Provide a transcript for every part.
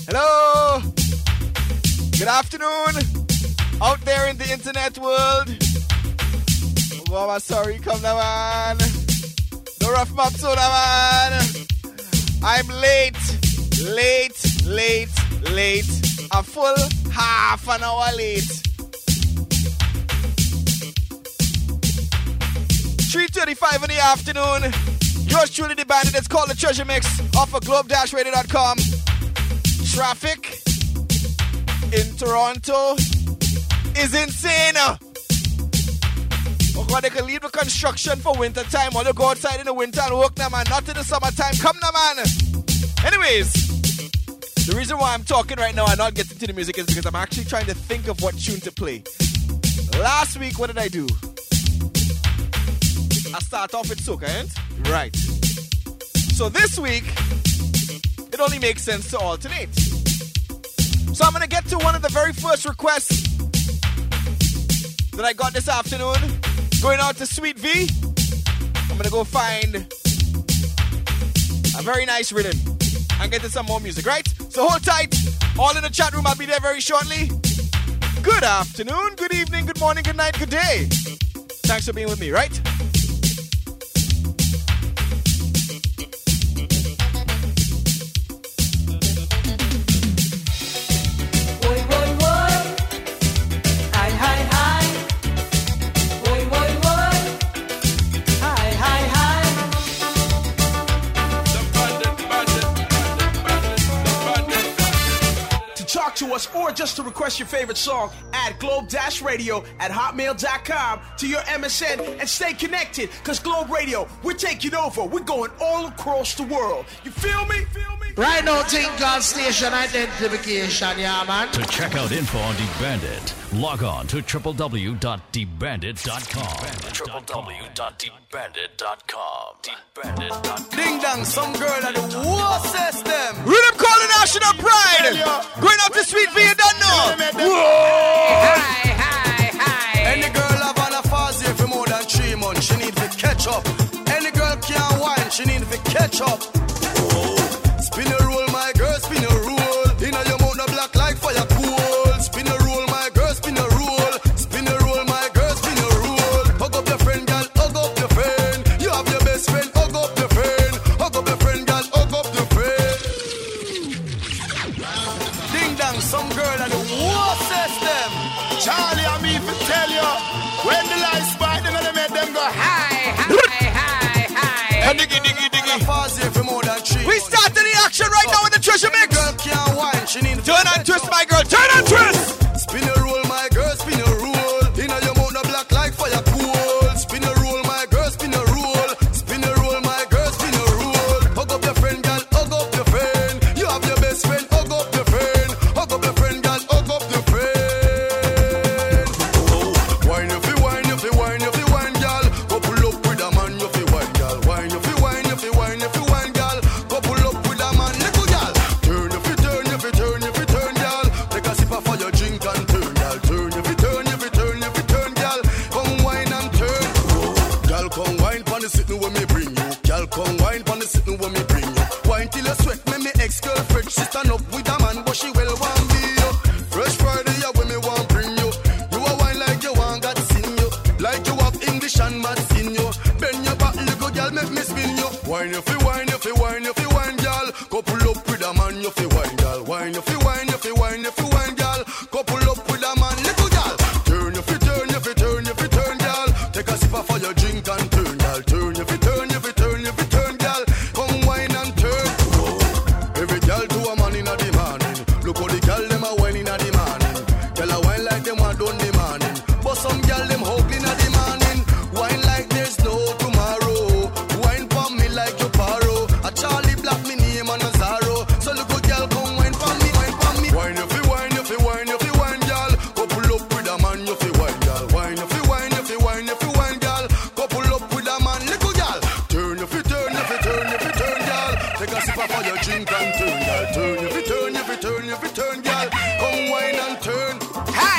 Hello. Good afternoon. Out there in the internet world. Mama, sorry, come now, man. No rough map soda, man. I'm late. A full half an hour late. 3:35 in the afternoon. Yours truly, the bandit. It's called the Treasure Mix off of globe-radio.com. Traffic in Toronto is insane. Oh God, they can leave the construction for winter time or they go outside in the winter and work now, man. Not in the summertime. Come now, man. Anyways, the reason why I'm talking right now and not getting to the music is because I'm actually trying to think of what tune to play. Last week, what did I do? I start off with soca, ain't? Right. So this week, it only makes sense to alternate. So I'm going to get to one of the very first requests that I got this afternoon. Going out to Sweet V. I'm going to go find a very nice rhythm and get to some more music, right? So hold tight. All in the chat room. I'll be there very shortly. Good afternoon, good evening, good morning, good night, good day. Thanks for being with me, right? To us or just to request your favorite song, add globe-radio@hotmail.com to your MSN and stay connected, because Globe Radio, we're taking over. We're going all across the world. You feel me? Right now, think on station identification, yeah, man. To check out info on The Bandit, log on to www.thebandit.com. www.thebandit.com. Ding dong, some girl at the war system. Rhythm calling national pride. Going up to Sweet V, you don't know. Hi. Any girl have on a fuzzy for more than 3 months, she need to catch up. Any girl can't whine, she need to catch up. Spin a roll, my girl, spin a roll. Inna your mouth, no black like fire cool. Spin a roll, my girl, spin a roll. Spin a roll, my girl, spin a roll. Hug up your friend, girl, hug up your friend. You have your best friend, hug up your friend. Hug up your friend, girl, hug up your friend. Ding dong, some girl at the war system. Charlie, I mean to tell you, when the lights bright, they're gonna make them go high. Diggy. We start the action right now with the Treasure Mix. Turn and twist, my girl. Turn and twist. Spin a roll, my girl. Spin a roll. Inna your mouth, no black like fire cool. Spin a roll, my girl. Spin a roll. Spin a roll, my girl. Spin a roll. Hug up your friend, girl. Hug up your friend. You have your best friend. Hug up your friend. Hug up your friend, girl. Hug up your friend. Wine if you wine, if you wine, if you wine, girl. Couple up with a man, if you wine, girl. Wine if you wine, if you wine, if you wine, girl. Couple up with a man, little girl. Turn if you turn, if you turn, if you turn, girl. Take a sip for your drink and turn, girl. Turn if you turn, if you turn, if you turn, girl. Come wine and turn. Girl, come wine pon the sitting when me bring you. Girl, come wine pon the sitting when me bring you. Wine till you sweat, me ex-girlfriend. She stand up with a man, but she well want be you. Fresh Friday, yeah, when me want bring you. You a wine like you want God sing you. Like you have English and maths in you. Bend your back, little girl, make me spin you. Wine if you wine, if you wine, if you wine, girl. Couple up with a man, if you wine, girl. Wine if you wine, if you wine, if you wine, girl. Couple up with a man, little girl. Turn if you turn, if you turn, if you turn, girl. Take a sip for your drink and turn, girl. Turn if you turn, if you turn, if you turn, girl. Come wine and turn. Every girl to a man in a the morning. Look how the girl them a wine in a the morning. Girl a wine like them want done the morning. But some girl them ugly in a the morning. Wine like there's no tomorrow. Wine for me like your paro. A Charlie Black me name and a Zaro. So look how girl come wine for me, wine for me. Wine if you wine, if you wine, if you wine, girl. Couple up with a man, if you wine, girl. Wine if you wine, if you wine, if you wine, girl. Couple up with a man, little girl. Turn if you turn, if you turn, if you turn, girl. Take a sip for your drink and turn, girl. Turn if you turn, if you turn, if you turn, girl. Come wine and turn. Hi.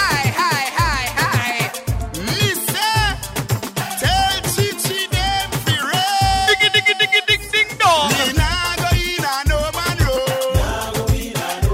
Listen, tell Chichi them fi run. Ding dong. Me nah go in a no man road.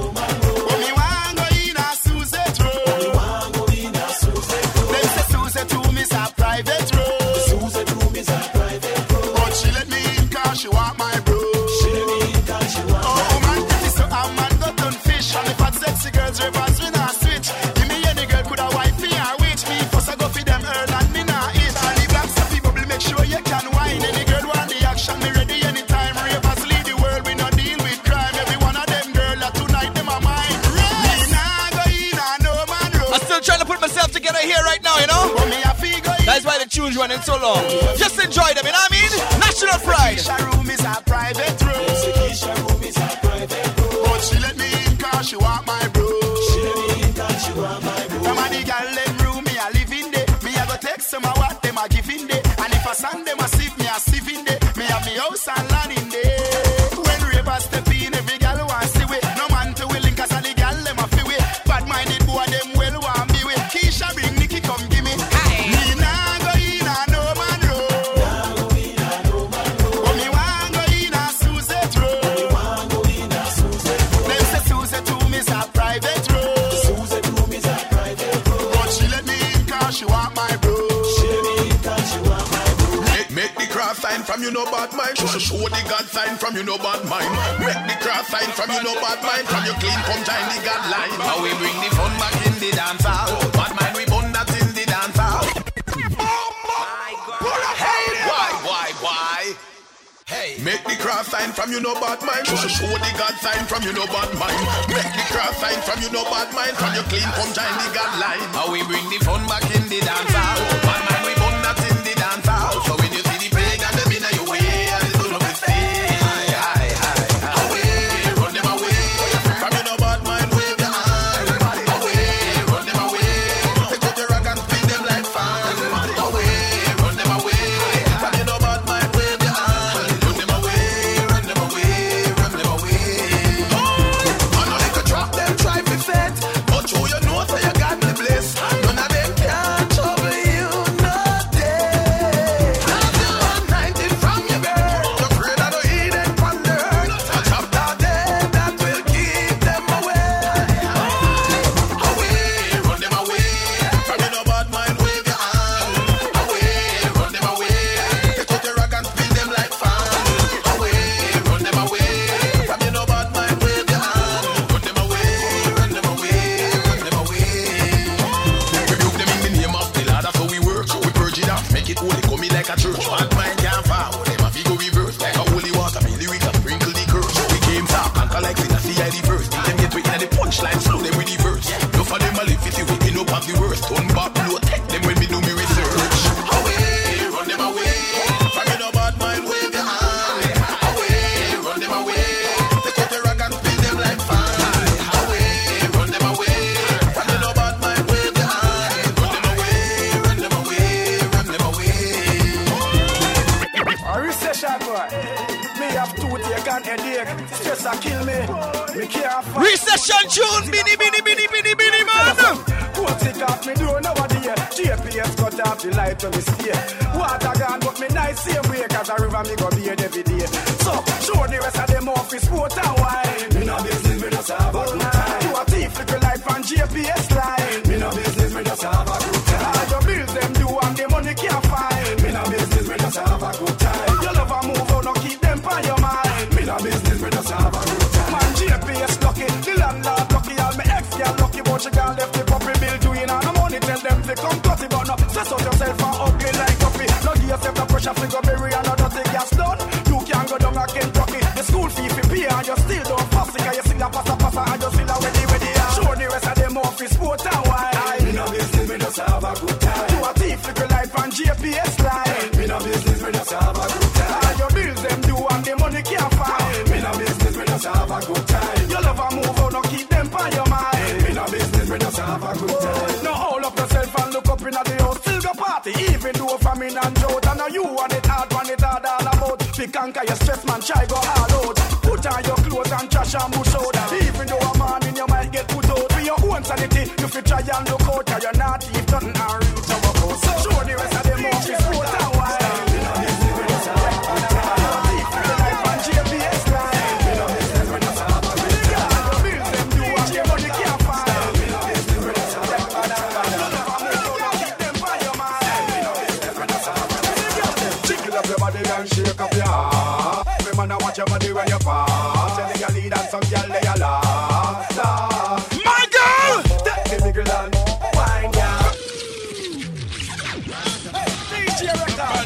one in so long. Just enjoy them, you know what I mean? National pride. Keisha room is a private room. Keisha room is a private room. But she let me in cause she want my bro. She let me in cause she want my bro. Some of the girl them room me a live in there. Me a go text some of what them a give in there. And if I send them a sieve, me a sieve in there. Me have me house and land in there. When ravers step in, every girl want see we. No man to willing cause all the girl them a feel we. Bad minded boy them well want me with. Keisha bring Nikki come give me. Me nah go in a no man road. But me want go in a Suzette road. Them say Suzette room is a private road. Suzette room is a private road. But she let me in cause she want my bro. She let me in cause she want my bro. Make the cross sign from you no bad mind. Show the God sign from you no bad mind. Make the cross sign from you no bad mind. From you clean come join the God line. How we bring the fun back in the dance hall. Bad mind we burn that in the dance hall. My God. Hey, why? Hey. Make the cross sign from you no bad mind. Show the God sign from you no bad mind. Make the cross sign from you no bad mind. From you clean come join the God line. How we bring the fun back in the dance hall. Bad mind we burn that in the dance hall. So when you see the pain and the bin of your way, and it's gonna be stay. Away, run them away. From you no bad mind, wave your hand. Away, run them away. Take out your rag and spin them like fan. Away, run them away. From you no bad mind, wave your hand. Run them away, run them away, run them away. I know they could drop them, try to fit. But you know so you got the bliss. None of them can trouble you, no day. Have you 190 from your birth? You're afraid I don't eat it from the earth. I chop that dead, that will keep them away. Away, run them away. From you no bad mind, wave your hand. Away, run them away. Take out your rag and spin them like fan. Away, run them away. From you no bad mind, wave your hand. Run them away, run them away, run them away. Rebuke them in the name of the Lord, that's how we work. We purge it off, make it holy, come in like a church. Bad mind can't fall, them have to go reverse. Like a holy water, me lyrics and sprinkle the curse. We came top, anchor like sin, I see the verse. Make them get waiting at the punchline, slow them with the verse. No for them, I live it, we end up of the worst. Turn back, blow, take them when me do me research. Away, run them away. From you no bad mind, wave your hand. Away, run them away. Take out your rag and spin them like fan. Away, run them away. From you no bad mind, wave your hand. Run them away, run them away, run them away. A recession boy. Me have toothache and headache. Stress a kill me. Me can't fight. Recession tune, Binny, man. Go take off me door nowadays. GPS cut off the light when me stay. Water gone but me nice same way. Cause a river me go bathe every day. So show the rest of them office sport and wine. Me no business, me just have a good time. You a thief, little life on GPS line. Me no business, me just have a good time. All your bills them do and the money can't find. Me no business, me just have a good time. Your love a move out, no keep them on your mind. Me no business, me just have a good time. Man, GPS lucky, the landlord lucky. All my ex-girl lucky, but she gone left the puppy bill doing all the money. Tell them to come cut it, but no stress out yourself and ugly like coffee. No give yourself the pressure, figure bury and no dirty gas done. You can't go down a Kentucky. The school fee for pay and you still don't fuss it. Cause you still a passa and you still a ready. Show the rest of them office sport and wine. Me no business, me just have a good time. You a thief, little life on GPS line. Me no business, me just have a good time. All your bills them do and the money can't find. Me no business, me just have a good time. Your love a move out, no keep them on your mind. Me no business, me just have a good time. Now hold up yourself and look up in the house. Still go party, even though famine and drought. And now you want it hard all about. Pick anchor your stress man, try go all out. Put on your clothes and trash and bush out. Even though a man in your might get put out. For your own sanity, you fit try and look out. Cause you're not if nothing and reach our house. So show the rest of them off his foot and wine. Shake up your heart. Me man, I watch your body when you pass. Tell your lead and some girl they a laugh. My girl! Take the big land, wine girl. DJ record.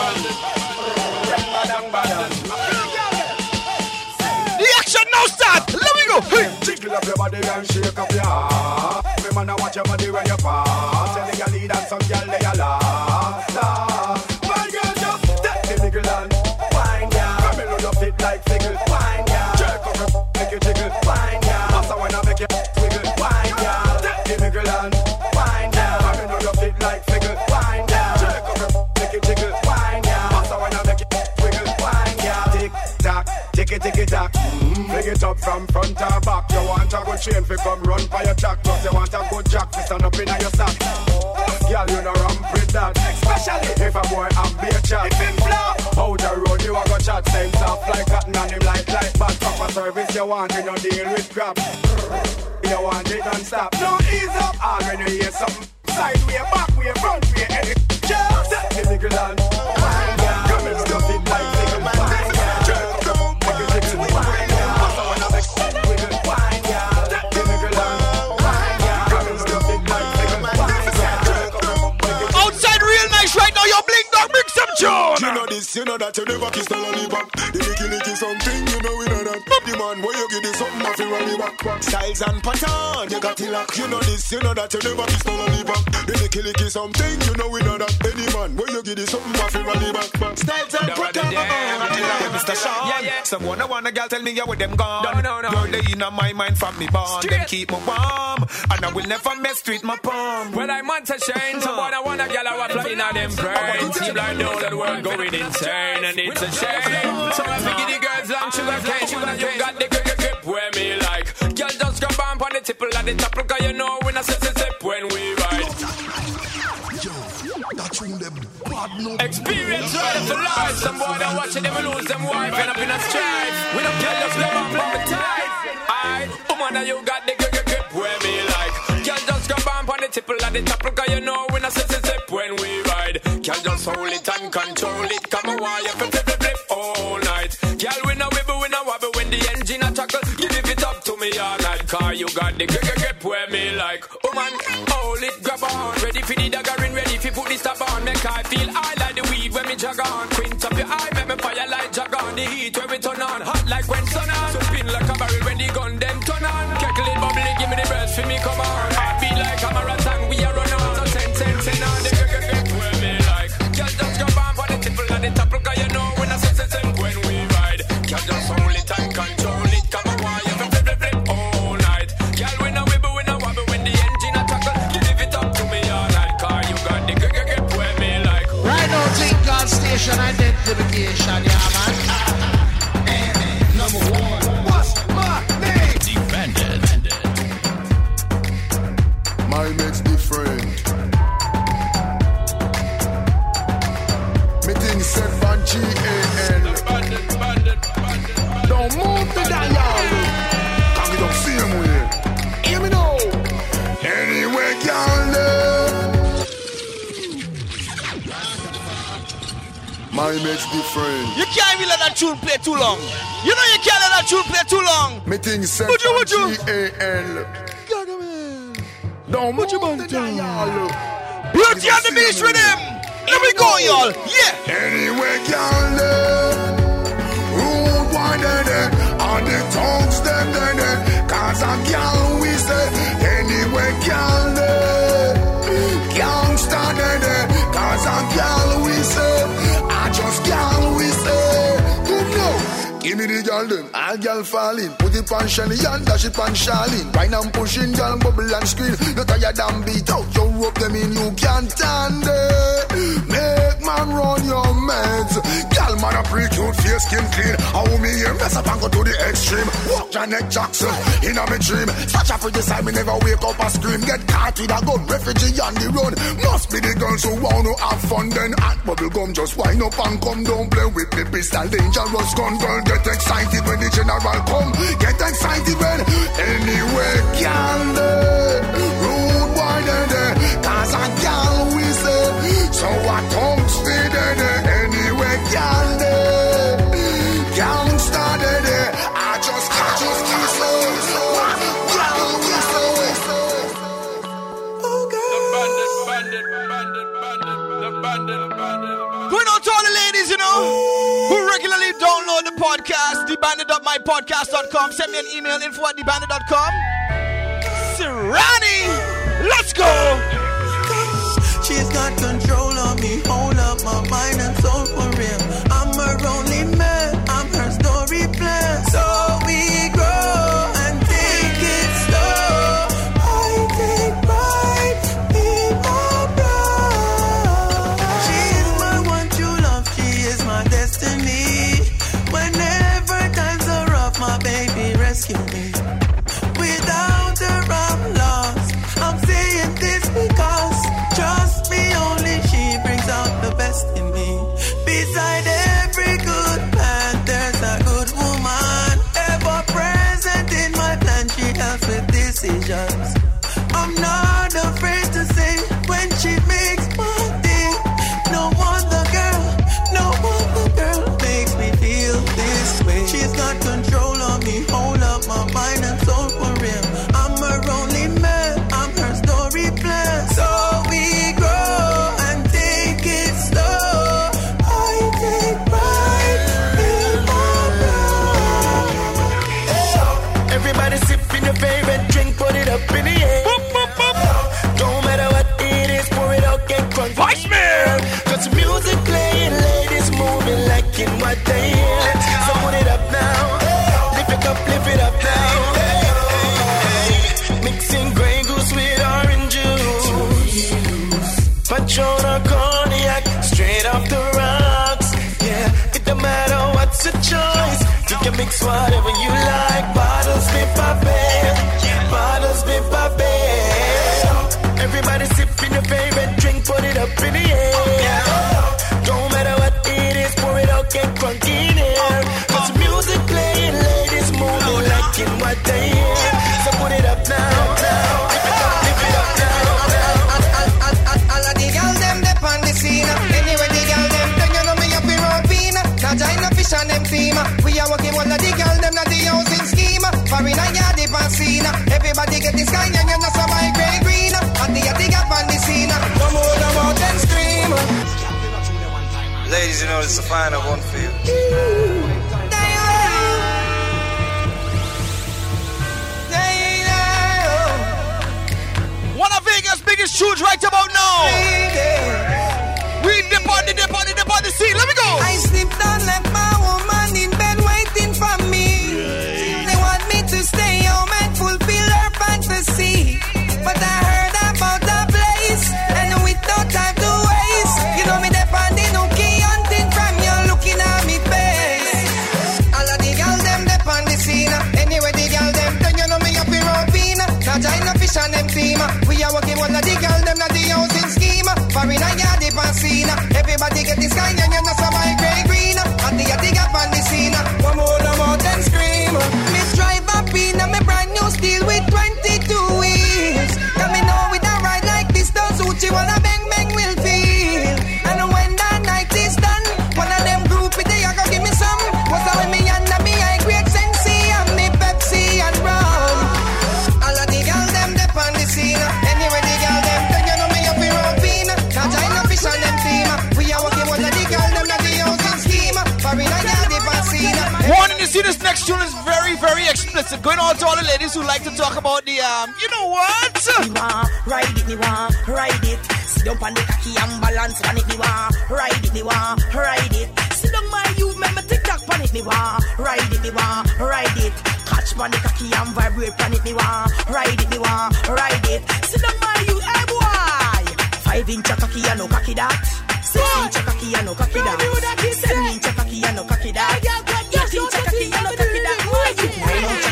The action now start. Let me go. Hey. Jiggle up your body and shake up your heart. Me man, I watch your body when you pass. Tell your lead and some girl they a laugh. like figgle. Wine, girl. Jerk up your make you jiggle. Wine, girl. Master when I make you wiggle. Wine, girl. Give me girl and wine, girl. I know you fit like figgle. Wine, girl. Jerk up your make you jiggle. Wine, girl. Master when I make you wiggle. Wine, girl. Tick tock, ticky tock. Fling it up from front or back. You want a good chain fi come run for your jack. Plus you want a good jack fi stand up inna your sack. Girl, you know ramp with that. Especially if a boy have beer chat. If him flop out the road, you a go chat. Same soft like cotton and him like bad. Proper service you want, you no deal with crap. You want it non-stop. No ease up. All when you hear something side way, back way, front way, any just give me girl and wine, girl. Come and stuff it like nigga, wine, girl. Jerk up, make you jiggle, wine, girl. Master when I make wiggle, wine, girl. Give me girl and wine, girl. Come and stuff it like nigga, wine, girl. Jerk up, make you outside real nice right now. You're blink dog, bring some tune. You know this, you know that. You never kiss the lollipop. The licky something, you know we know that. The man, where you get this something off your rally back. Styles and pattern, you got it lock. You know this, you know that. You never kiss the lollipop. The licky something, you know we know that. Any man, where you get this something off your rally back. Styles and pattern, Mr. Sean. Yeah. Someone a girl tell me you with them gone. No. You're the in my mind from me born. Them keep me warm, and I will never mess with my palm. Well, I'm on to shine. Someone I want a girl I flying on them brains. Seem like know that we're going insane, and it's a shame. So I figure the girls long sugar cane. You got the grip where me like. Girl just grab on the tipple at the top, because you know when I sip when we ride. Experience right for life. Some boy that watch it, they will lose them wife. End up in a strife. We don't care, just grab on from the tight. Aye, woman, you got the grip where me like. Girl just grab on the tipple at the top, because you know when I sip when we ride. Girl just hold it and control it. Come on, why you flip all night. Girl, we no wibble, we no wobble when the engine a chuckle. Give it up to me all night, car you got the grip where me like. Oh man, hold it, grab on. Ready for the daggering, ready for put the stop on. Make I feel I like the weed when me jog on. Quint up your eye, make me fire like jog on. The heat when we turn on, hot like when sun on. So spin like a barrel when the gun them turn on. Keckle it, bubbly, give me the burst for me, come on. I be like a marathon, we are run on. So send on the grip where me like. Girl just grab on for the tipple and the top, because you know when I say when we ride. Girl just hold it and control it. Come on, why you flip all night. Girl, we no wibble, we no wobble when the engine a tackle. Give it up to me all night, car you got the grip where me like. Right now, St. God Station identification, yeah, man. Number one, what's my name? The Bandit. My mate's different. Me things said van G-A-L. Don't move the dial. Come it up same way. Hear me now. Anyway, girl. My mate's different. You can't even let that tune play too long. You know you can't let that tune play too long. Me things said Would you? G-A-L. Don't move the dial. Beauty and the Beast rhythm. Here we go, y'all. Yeah. Anyway, girl, rude one day, on the tongues them then, cause a girl we say. Anyway, girl, gangsta then, cause a girl we say. I just girl we say. Good no. Give me the girl then, all girl falling. Put it on Shelly and dash it on Charlene. Right now I'm pushing girl, bubble and scream. You tired and beat out, you rope them in, you can't stand it. Make man run your meds. Girl man a pretty cute, face skin clean. How me here, mess up and go to the extreme. Walk Janet Jackson, in a me dream. Such a pretty side, me never wake up and scream. Get caught with a gun, refugee on the run. Must be the girls who want to have fun. Then hot bubble gum, just wind up and come. Don't play with the pistol, dangerous gun. Girl, get excited when the general come. Get excited when anyway, girl, rude boy there, cause a girl we say. So I don't stay there anyway, girl, gangsta there. I just we say, girl we say. Going out to all the ladies, you know, who regularly download the podcast, thebandit.mypodcast.com. Send me an email, info@thebandit.com. Sirani, let's go. She's got control of me, hold up my mind and soul for real. I'm her only man, I'm her story got control of me, hold up my mind and soul for real. I'm her only man, I'm her story plan. So we grow and take it slow. I take pride in my blood. Everybody sipping your favorite drink, put it up in the air. Don't matter what it is, pour it out, get crunk. Vice man! Got some music playing, ladies moving like in what they hear. So put it up now, lift it up now. Mixing Grey Goose with orange juice, Patron or cognac, straight off the rocks. Yeah, it don't matter what's your choice. You can mix whatever you like. Bottles be poppin', bottles be poppin'. Everybody sipping your favorite drink, put it up in the air. Don't matter what it is, pour it out, get crunk in here. Cause music playing, ladies moving like in what they hear. So put it up now, lift it up now. All of the girls them dep on the scene. Anyway the girls them, then you know me up in Rovina. Vagina fish and them steamer. We are working all of the girls them not the housing scheme. Foreign and yard the pancina. Everybody get this kind and you know some my grey green. And the up on the scene. No more about them scream. Ladies, you know it's the final one for you. One of Vegas' biggest tunes right about now. We dip on the scene. Let me go. I slipped and left my woman in bed waiting for me. They want me to stay home and fulfill her fantasy. But I heard about the place, and with no time to waste, you know me dep on the nookie hunting from you looking at me face. All of the girls them dep on the scene. Anyway the girl them, then you know me up in Rovina. Vagina fish and them steamer. We are working one of the girls them not the housing scheme. Foreign and yard the pancina. Everybody get this kind and you know some my grey green. And the up on the scene. One more about them scream. Miss drive up in a me brand new steel with 22 wheels. Tell me know with a ride like this does Uchi wanna bang bang will feel. And when the night is done, one of them groupies they a go give me some. What's up with me and me I great Sensi and me Pepsi and rum. All of the girls them dep on the scene. Anyway the girl them, then you know me up in Rovina. Vagina fish and them team. We are working one of the girls them not the housing scheme. Foreign and yard the pancina. Warning, you see this next tune is very, very explicit. Going on to all the ladies who like to talk about the, you know what? Me want ride it. Sit down on the cocky and balance on it. Me want ride it. Sit down my youth, make me tick-tock on it. Me want ride it. Catch on the cocky and vibrate on it. Me want ride it. Sit down my youth, hey boy. 5-inch cocky and no cocky that. 6-inch cocky and no cocky that. 7-inch cocky and no cocky that. 8-inch cocky and no cocky that. 9-inch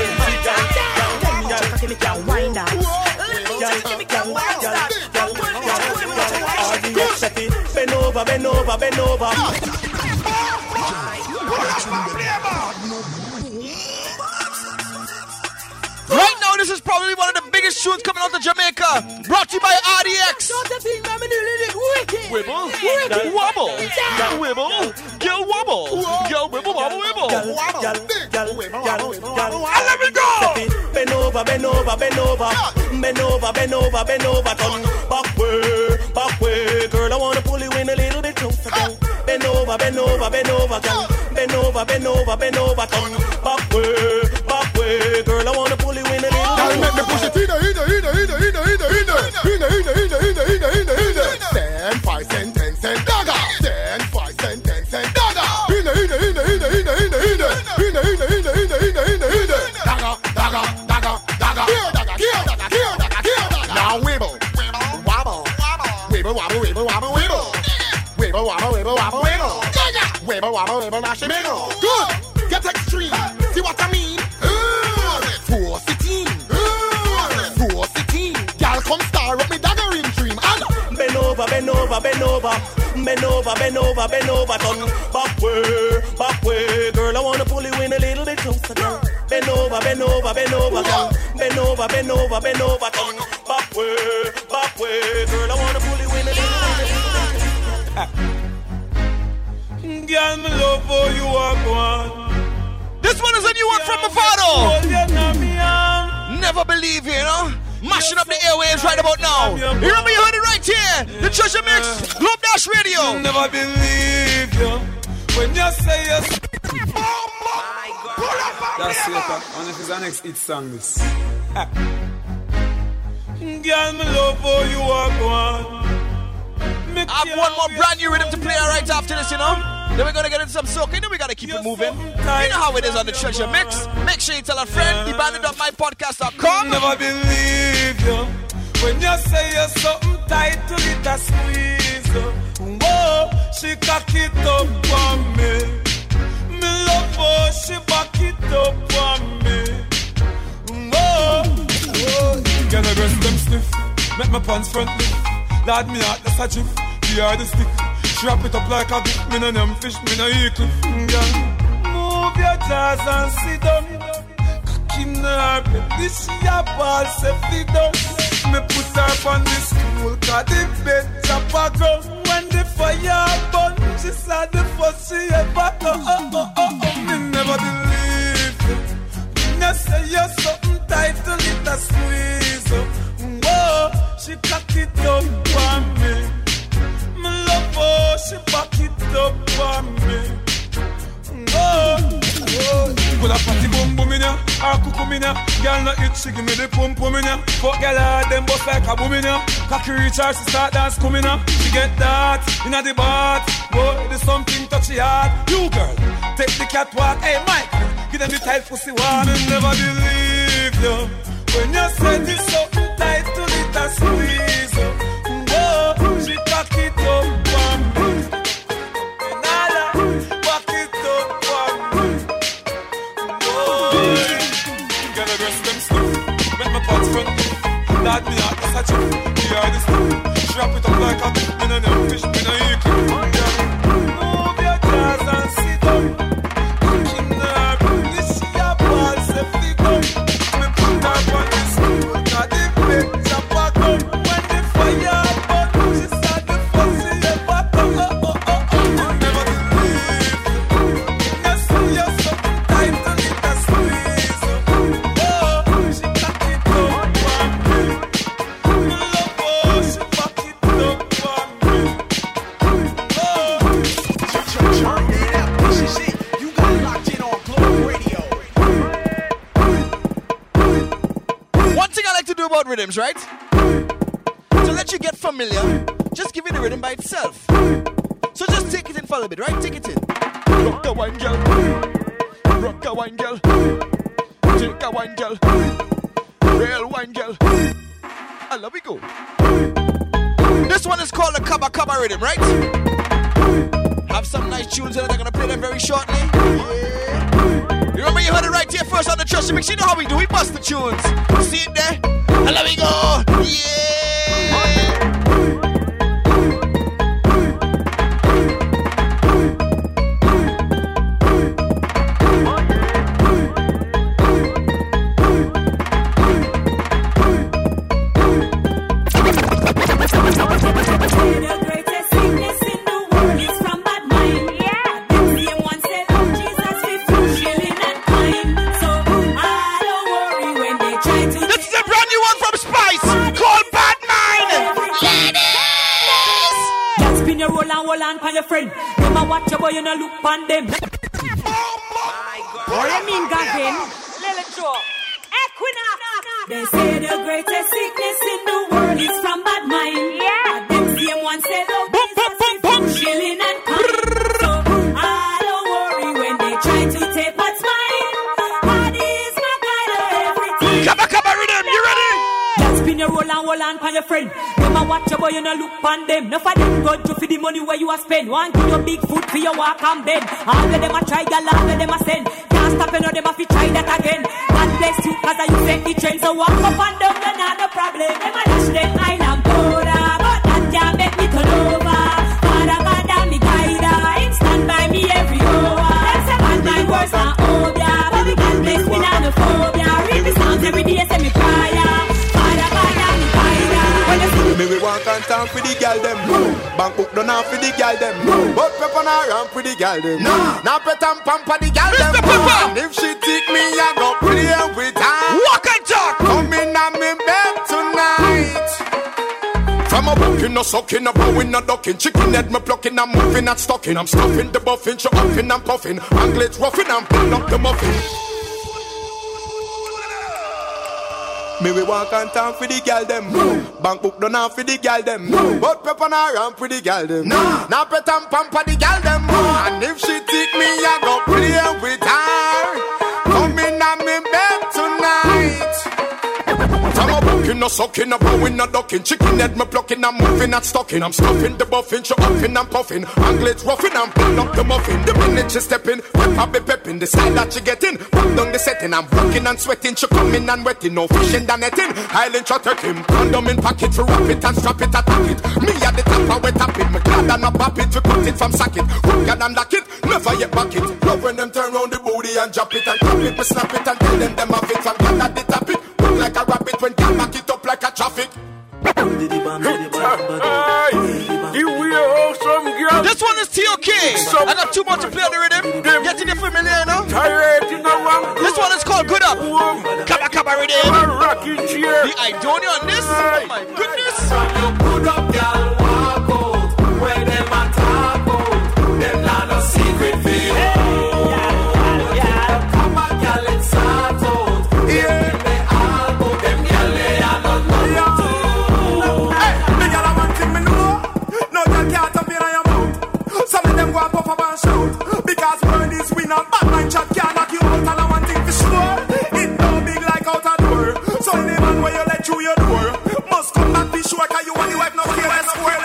cocky me can wind that. 11-inch cocky me can wind that. Bend over. Right now, this is probably one of the biggest tunes coming out of Jamaica. Brought to you by RDX. Wibble, wobble, wibble, girl wobble, girl wibble, wobble, wibble. And let me go. Bend over. Turn back way. Girl, I wanna pull you in a little bit closer. Bend over, girl. Bend over. Turn back way. Girl, I wanna pull you in a little bit closer. Make me push it in. 10, 5 cent, 10 cent, dagger. 10, 5 cent, 10 cent, dagger. Dagger. Now wibble, wobble. Wibble, mash it. Good. Get extreme. See what I mean? Force it in. Girl, come star up me daggering dream. And bend over. Turn back way. Girl, I wanna pull you in a little bit closer. Girl. Bend over, girl. Bend over. Turn back way. Girl, I wanna pull you in a little bit. Girl, me love for you are one. This Mavado. Never believe you, you know? Mashing up the airwaves right about now. You remember you heard it right here. The Treasure Mix, Love Dash Radio. Never believe you when you say yes. That's it. And if it's our next hit song, this. Girl, me love how you are going. I have one more brand new rhythm to play right after this, you know? Then we're gonna get into some soca, then we gotta keep it moving. You know how it is on the Treasure Mix. Make sure you tell a friend, thebandit.mypodcast.com. Never believe you when you say you're something tight to it a squeeze. Whoa, she cock it up for me. Me love her, she back it up for me. Whoa, whoa. Get the rest them stiff, make my pants front lift. Lad me out, that's a jiff. The the stick. Wrap it up like a bit. Me no name fish, me no eat it. Move your jaws and sit down. Cock in her bed, this she a ball safety down. Me put her on the stool, cause the bed chop a gun. When the fire burn, she saw the first she ever go. Me never believe you. Me say you're something tight to let her squeeze. Whoa, she cock it up for me. Oh, she back it up for me. Oh, put a party boom boom in ya, or cuckoo in ya. Girl not it, she give me the pum pum in ya. Fuck girl hard, them bust like a boom in ya. Cocky reach her, she start dance coming ya. She get that inna the bath. Boy, there's something touchy hard. You girl, take the catwalk. Hey Mike, give them the tight pussy one and never believe you when you say this something tight to it a squeeze. Oh, she cock it up. That me out, that's a chick. We are the stuff. Wrap it up like a bit. Me no name fish, me no eat it. Move your jaws and sit down. Cooking her, this she a ball safety gun. Me put her on the stool, cause the bed chop a gun. When the fire burn, she saw the fussy ever come. Never believe you. You see you're something tight to let her squeeze. Oh, she cock it up. About rhythms, right? To let you get familiar, just give it a rhythm by itself. So just take it in for a little bit, right? Take it in. Rock a wine, girl. Rock a wine, girl. Take a wine, girl. Real wine, girl. And let we go. This one is called the Kaba Kaba rhythm, right? Have some nice tunes in it. I'm gonna play them very shortly. Yeah. You remember you heard it right here first on the Treasure Mix. You know how we do. We bust the tunes. See it there? And let me go. Yeah. Your friend, them a watch your boy, you no look on them. What you mean, Gavin? Little Joe, Equinox. They say the greatest sickness in the world is from bad mind. Yeah. Them same one say the Jesus chilling and kind. So I don't worry when they try to take what's mine. God is my guide of everything. Come on, rhythm, you ready? Just spin your roll on for your friend. Watch your boy, you no look on them. No for them go to for the money where you a spend. One give you big foot for your walk and bend. All of them a try, girl, all of them a send. Can't stop and all them a fi try that again. God bless you, cause you set the trend. So walk up and down, you're not the problem. Them a dash them island border, but that can't make me turn over. Father God and me guide, him stand by me every hour. Them say bad mind worse than obia, but we God bless me not no phobia. Read the songs every day, say me prayer. Father God and me guide. Me we walk and talk for the girl them. Bank book done off for the girl them. But pepper na ramp for the girl them. Now pet and pamper the girl them. And if she take me, I go bucking, no sucking, no bowing, no ducking. Chicken head, me plucking, I'm moving, not stucking. I'm stuffing the buffin, show upping, I'm puffing. Anglets roughing, I'm pulling up the muffin. Me we walk on town for the gal them. Bank book done off for the gal them. But pepper na ramp for the gal them. Now pet and pamper the gal them. And if she take me, I go play with her. Come in on me bed tonight. I'm a bucking, no sucking, no bowing, no ducking. Chicken head, me plucking, I'm moving, not stucking. I'm stuffing the buffin, show upping, I'm puffing. Anglets roughing, I'm pulling up the muffin. The minute she stepping, pepper be pepping. The style that she getting, pop down the setting. I'm working and sweating, she coming and wetting. No fishing than netting, Highland shot at him. Condom in pocket, for wrap it and strap it, attack it. Me at the top, I wet up it. Me glad and I pop it, we cut it from socket. Hook and unlock it, never yet back it. Love when them turn round the booty and drop it and clap it. Me snap it and tell them have it from gal at the top it. Look like a rabbit when gal back it up like a traffic. This one is TOK. I got too much to play on the rhythm. Getting it familiar now. This one is called Good Up. Kaba rhythm. The Idonia on this. Oh my goodness. Good up, girl. Walk out. When them a talk out, them not no secret feel. Come on, girl, it's start out. Yeah. Because word is winner, bad mind chat can't knock you out. And I want thing for sure, it no big like out a door. So any man where you let through your door must come back be sure, cause you and the wife no care less square.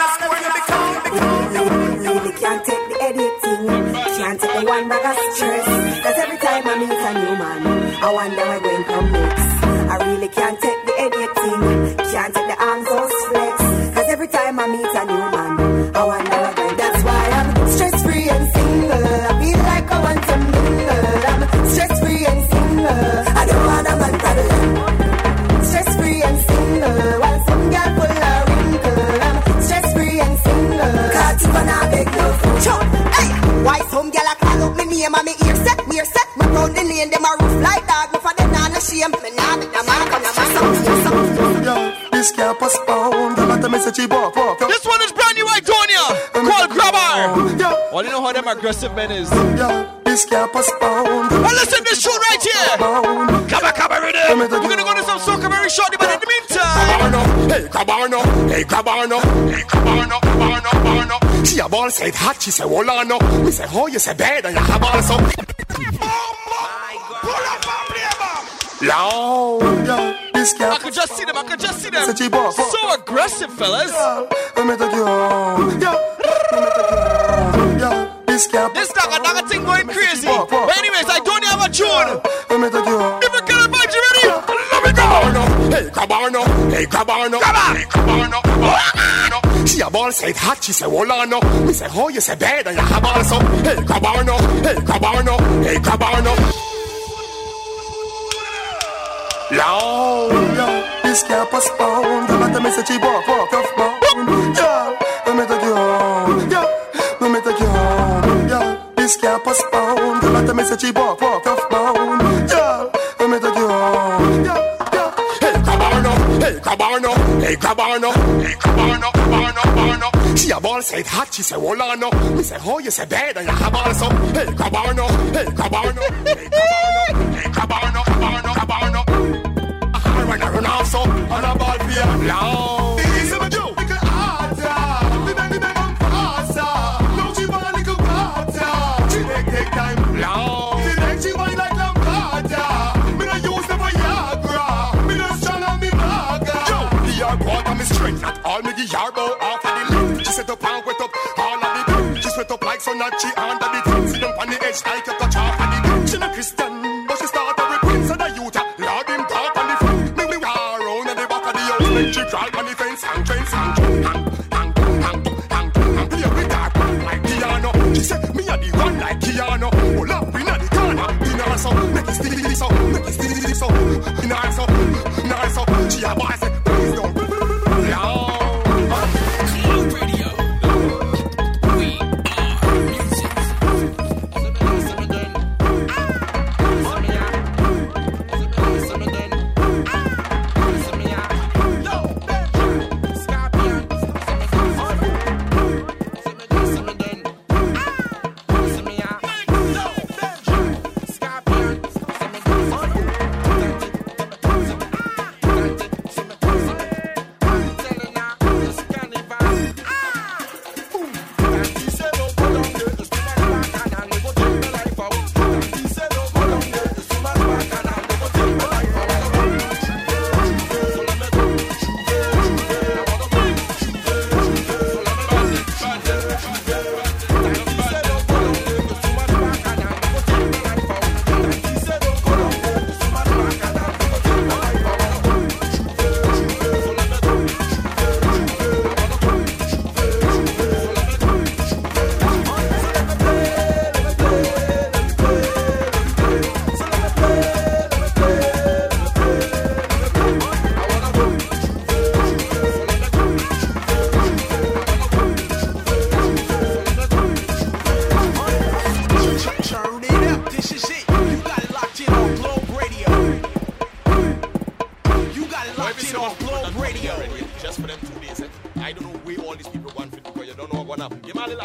You can't take the editing, can't take the one bag of stress. Cause every time I meet a new man, I wonder where going come next. I really can't take the editing, can't take the arms or flex. Cause every time I meet a new man, I wonder where going. That's why I'm stress-free and single. I feel like I want some mingle. I'm stress-free and single. I don't want a man problem. Stress-free and single. While some girl full of wrinkle. I'm stress-free and single. Cause if I not beg no food. Hey, why some girl I call up me name and me ear set, we're set. My round the lane, them a roof like dog. Me for them not no shame. Me not make the mark on the mask. This can't postpone. This one is brand new Idonia. Called Grabber. Well, you know how them aggressive men is. This can't postpone. Well, listen to this show right here. Kaba rhythm. We're gonna go to some soca very shortly, but in the meantime. Hey, Cabarno. Hey, Cabarno. Hey, Cabarno. She a ball said hot, she said Wolano. We say, oh, you say bad, and you have also. Loud. I could just see them. So aggressive, fellas. This dagga thing going crazy. But anyways, I don't have a tune. Different kind of vibes, you ready? Let me go. Hey, Cabarno. Hey, Cabarno. Hey, Cabarno. She a ball said hot, she said Wolano. We say, oh, you say bad, and you have also. Hey, Cabarno. Hey, Cabarno. Hey, Cabarno. Loud. This can't postpone. Don't let the message you walk off bone. Yeah, let me take you home. Yeah, let me take you home. Yeah, this can't postpone. Don't let the message you walk off bone. Yeah, let me take you home. Yeah. Hey, Cabarno. Hey, Cabarno. Hey, Cabarno. Hey, Cabarno. She a ball said hot, she said Wolano. We say, oh, you say bad, and you have also. Hey, Cabarno. Hey, Cabarno. Hey, Cabarno. Hey, Cabarno. When I run also on a ball field. Loud. It's a joke. Make it harder. We make faster. No, she want a little harder. She take time. Loud. She make she want like Lampada. Me not use the Viagra. Me not strong on me burger. Yo, the yard water me straight. Not all me the yard bow off of the left. She set up and wet up all of the time. She sweat up like so not she under the tent. Sit up on the edge like a touch off of the tent. She not Christian, but she start to repent. So the youth, Lord him talk on the front. She crawl on the fence, hang, play with that like piano. She said, me a the one like Keanu. Pull up in the corner, in her so, make it steady so, in her so. She a boy say, please don't.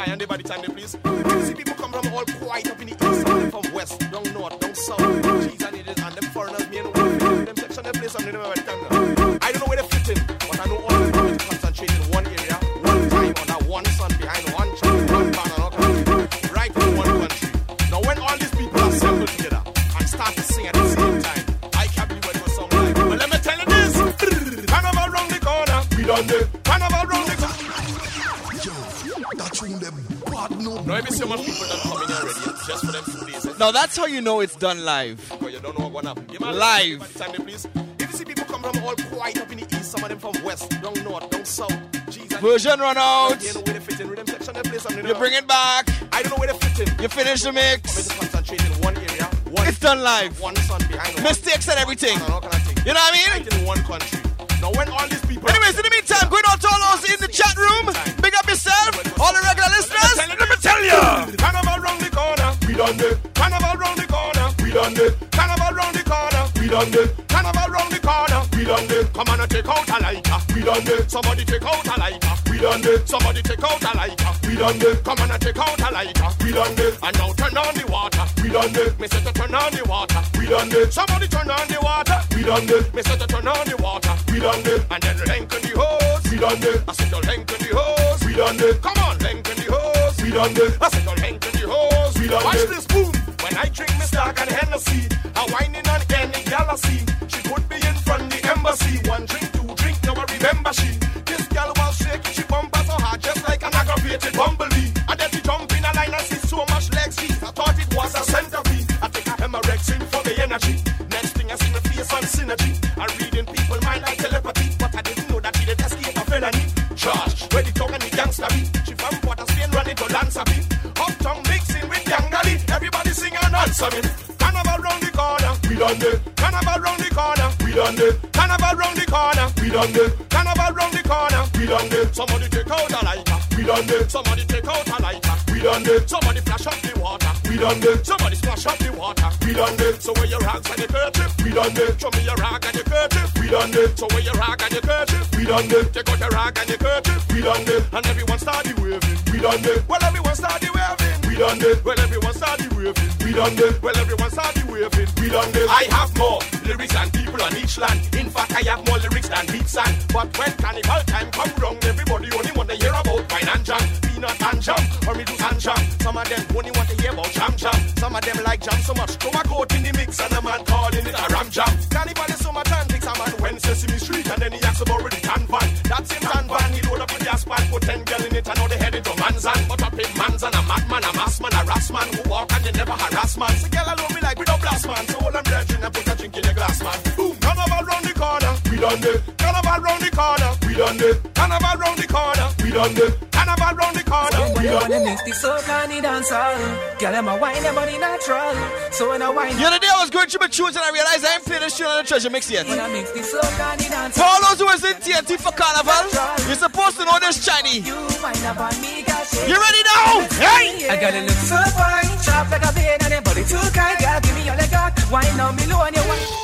Aye, and they by the time they please. You see people come from all quite up in the east, some from west, down north, down south. Cheese and it is, and them foreigners, me and them section, they play something, they never by the time now. I don't know where they fit in, but I know all of them concentrate in one area, one time, on that one sun, behind one tree, one banner, right in one country. Now when all these people assemble together and start to sing at the same time, I can't believe what it was song like. But let me tell you this, Carnival round the corner, we done the Carnival round the corner. That's when the bad no. No, maybe so much people don't come in here already just for them 2 days. Now that's how you know it's done live. Because you don't know what's going to happen. Live. By the time they please. If you see people come from all quite up in the east, some of them from west, down north, down south. Version run out. You know where they fit in. Rhythm section, they play something. You bring it back. I don't know where they fit in. You finish the mix. I'm going to concentrate in one area. It's done live. One sun behind. Mistakes and everything. You know what I mean? Right in one country. Now when all these people... Anyways, in the meantime, going out to all those in the chat room. Big up yourself. All the regular listeners. Let me tell you. Carnival round the corner. We done it. Carnival round the corner. We done it. Carnival round the corner. We done it. Carnival round the corner. We done it. Come on and take out a lighter. We done it. Somebody take out a lighter. We done it. Somebody take out a lighter. We done it. Come on and take out a lighter. We done it. And now turn on the water. We done it. Me say to turn on the water. We done it. Somebody turn on the water. We done it. Me say to turn on the water. We done it. And then lengthen the hose. We done it. I said to lengthen the hose. We done it. Come on, lengthen the hose. We done it. I said to lengthen the hose. We done it. Watch this boom. When I drink Mr. and Hennessy, I'm whining on any galaxy. She put me in front the embassy. One drink, two drink, now I remember she. This girl was shaking, she bumper so hard, just like an aggravated bumblebee. And then she jump in a line and see so much legs. I thought it was a centipede. I take a Hemorrexin for the energy. Next thing I see my face on synergy. I'm reading people mind like telepathy, but I didn't know that she did escape a felony. Charge, where the tongue and the gangster be. She from Port of Spain running to Lanzabi. Uptown mixing with Yangali. Everybody sing and answer me. Carnival round the corner, we done it. Carnival round the corner, we done it. Carnival round the corner, we done it. Carnival round the corner, we done it. Somebody take out a lighter, we done it. Somebody take out a lighter, we done it. Somebody flash up the water, we done it. Somebody splash up the water, we done it. So where your rags and your kerchief, we done it. Show me your rag and your kerchief, we done it. So where your rag and your kerchief, we done it. Take out your rag and your kerchief, we done it. And everyone start the waving, we done it. Well, everyone start the waving, we done it. Well, everyone start the waving, we done it. Well, everyone start the waving, we done it. I have more lyrics than people on each land. In fact, I have more lyrics than beats and. But when carnival time come round, everybody only want to hear about wine and jam, peanut and jam, or me do and jam. Some of them only want to hear about jam jam. Some of them like jam so much, throw a coat in the mix and a man calling it a ram jam. Carnival is so much antics, a man went Sesame Street and then he asked about the tan van. That same tan van, he load up with the asphalt, put 10 girl in it and now they head into Manzan. But up in Manzan, a madman, a mass man, a ras man who walk and they never harass man. So girl alone me like we don't blast man, so hold them dredging and put a drink in your glass man. Boom, carnival round the corner, we done it. Carnival round the corner, we done it. Carnival round the corner, we done it. Carnival round the corner, we done it. Mix the soca and the dancehall. Girl, I'm a wine, your body natural. So when I wine, the other day I was going through my tunes and I realized I ain't played this tune on the treasure mix yet. when I mix the soca and the dancehall. For all those who was in TNT for Carnival, you're supposed to know this Chinese. You wind up on me, got shit. You ready now? Hey! I gotta look so fine, sharp like a blade and your body too kind. Girl, give me all you got. Wine on me low and you wine.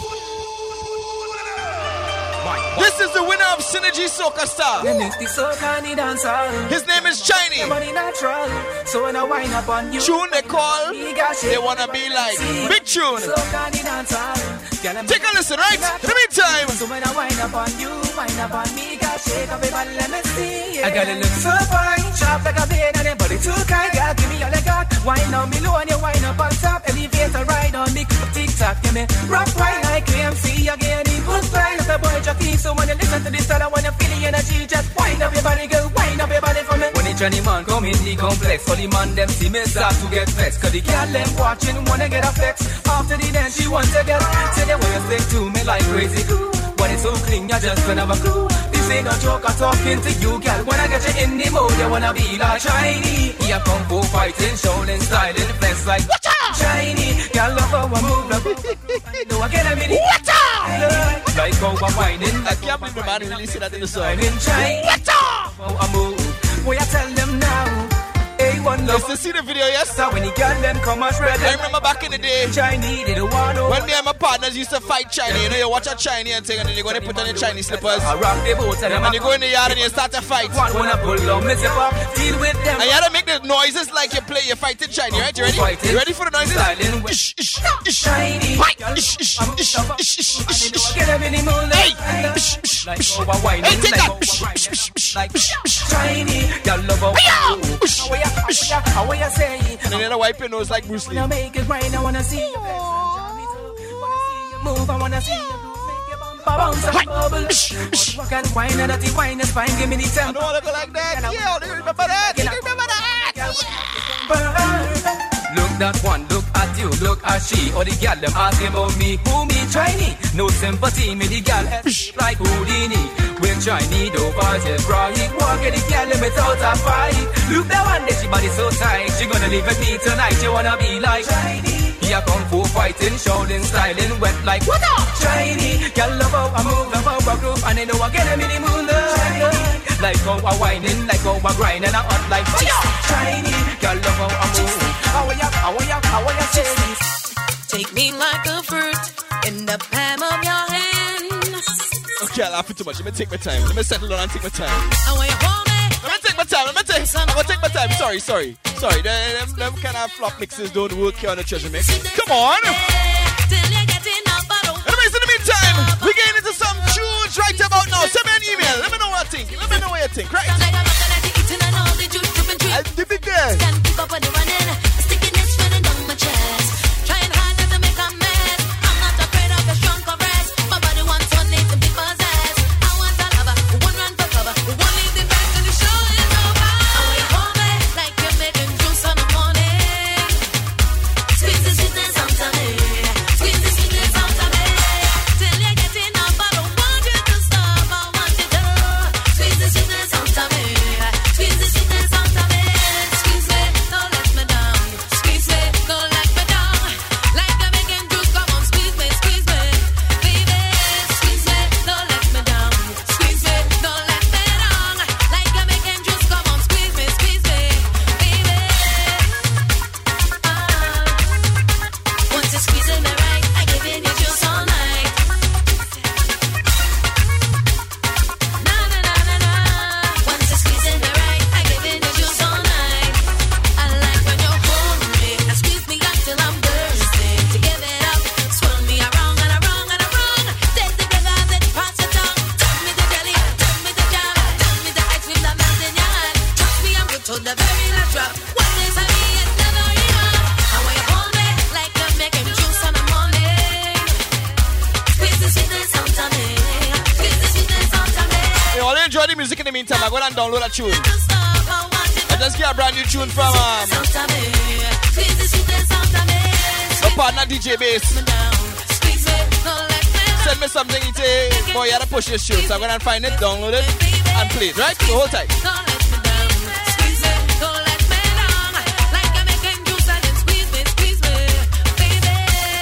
This is the winner of Synergy Soca Star. His name is Chinese. So when I wind up on you, tune they call, they wanna be like big tune. Take a listen, right? In the meantime, so when I wind up on you, wind up on me, got shake up, everybody let me see. I gotta look so fine, sharp like a blade and your body too kind. Girl, give me all you got. Wind on me low and you wind up on top. Elevator ride on me, tick-tock, give me rock wine like KMC again. Good fly like a boy jockey. So when you listen to this style, I wanna feel the energy. Just wind up your body, girl, wind up your body for me. When the Johnny man come in the complex, all the man them see me start to get vexed. Cause the girl them watching wanna get a flex. After the dance she wants to get. Say the way you stick to me like crazy glue. When it's so clean, you just don't have a clue. This ain't no joke, I'm talking to you, girl. When I get you in the mood, you wanna be like shiny. Yeah, kung fu fighting, Shaolin styling, flex like shiny. Girl, love how I move, love I know I get a minute. Like how I'm whining. I can't believe the man releasing that in the song. I'm in shine. How I move. What I tell them now? Hey, one love. Let's see the video, yes? So when the girl them come and spread I remember back in the day, Chinese, they don't want no. when me and my partners used to fight Chinese. You know, you watch a Chinese and thing, and then you go and put on your Chinese slippers. I rock the boat and you go in the yard and you start to fight. One wanna pull on, let's deal with them. And you had to make the noises like you fighting Chinese, right? You ready? You ready for the noises? Chinese. Get them in the mood. Hey! Hey, take that! Chinese. Y'all love how you say? And then I wipe your nose like Bruce Lee. I make it rain, I wanna see you. Move, I wanna see you. Bounce and bubble. Walk and wine, and that wine is fine. Give me the time. I don't wanna go like that. Yeah, do you remember that? Do you remember that? Look that one, look at you, look at she. Or the girl them asking about me, who me Chinese? No sympathy, me the girl like Houdini. When Chinese do parties right, walk at the girl them without a fight. Look that one, that she body so tight. She gonna live with me tonight. She wanna be like Chinese. Yeah, kung fu fighting, shouting, styling, wet like what up? Chinese, girl love how I move, love how I groove, and they know I get them in the mood. Like how I whining, like how I grind, and I hot like fire. Chinese, girl love how I move. How are you say this? Take me like a fruit in the palm of your hand. Okay, I'm laughing too much. Let me take my time. Let me settle down and take my time. I want you hold me. Let me take my time. I'm gonna take my time. Sorry. Them kind of flop mixes don't work here on the treasure mix. Come on. Anyways, in the meantime, we're getting into some tunes right about now. Send me an email. Let me know what I think. Let me know what you think. Right? I'll dip it there. Can't keep up with the running. Stickiness running down my chest. Trying hard not to make a mess. I'm not afraid of a strong caress. My body wants one need to be possessed. I want a lover who won't run for cover, who won't leave the back till the show is over. I want you hold me like you're making juice on the morning. Squeeze the sweetness out of me. Squeeze the sweetness out of me. Till you're getting up, I don't want you to stop. I want you to squeeze the sweetness out of me. Squeeze the sweetness out of me. Squeeze me, don't let me down. Squeeze me, don't let me down. Like I'm making juice, come on, squeeze me, baby. Squeeze me, don't let me down. Squeeze me, don't let me down. Like I'm making juice, come on, squeeze me, baby. Once you're squeezing me right, I give in you juice all night. Na na na na na. Once you're squeezing me right, I give in you juice all night. I like when you hold me and squeeze me up till I'm bursting. To give it up, swirl me around and around and around. Taste the flavor as it past your tongue. Tell me the jelly, tell me the jam, tell me the ice cream that melts in your hand. Trust me, I'm good to the very last drop. One is a me, it's never enough. I want you hold me like you're making juice on the morning. Squeeze the sweetness out of me. Squeeze the sweetness out of me. Hey, all you enjoy the music in the meantime, I go and download a tune. I just get a brand new tune from Out of me. Squeeze the sweetness out of me. my partner DJ Bass. Squeeze me, don't let me down. Send me something, he say, boy, you gotta push this tune. So I'm gonna find it, download it, and play it, right? So hold tight. Don't let me down. Squeeze me, don't let me down. Like I'm making juice and then squeeze me, baby.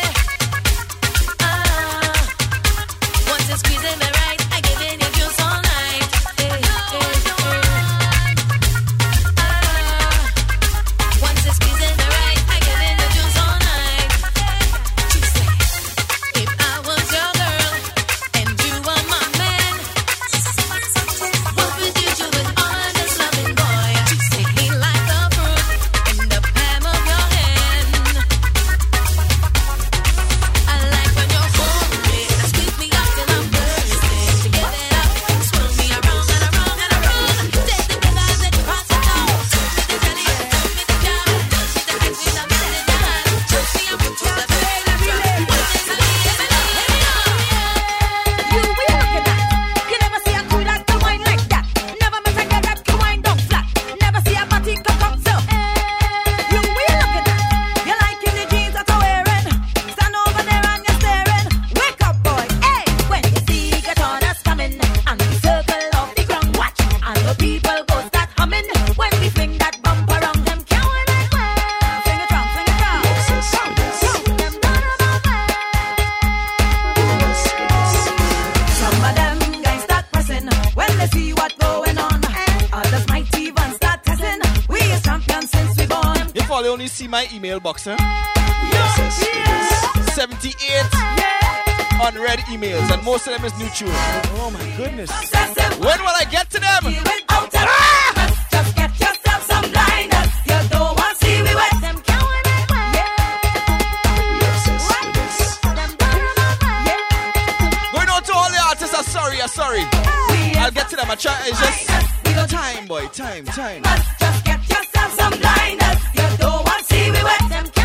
Once you're squeezing me right, I give in you juice all night. Once you're squeezing me right, I give in you juice all night. If I was your girl and you were my man, what would you do with all of my email box, huh? 78 unread emails, and most of them is new tune. Oh my goodness. When will I get to them? Just get yourself some blinders. You don't want to see me with them counting it. Going on to all the artists, I'm sorry. I'll get to them. I try. It's just time, boy. Time. Just get yourself some blinders. You don't want to see me with them.